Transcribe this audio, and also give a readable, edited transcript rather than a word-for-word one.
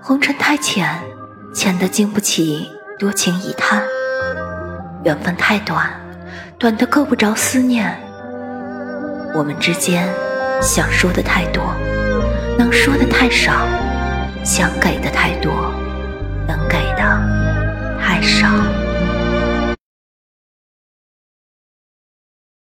红尘太浅，浅得经不起多情一叹；缘分太短，短得够不着思念。我们之间想说的太多，能说的太少，想给的太多。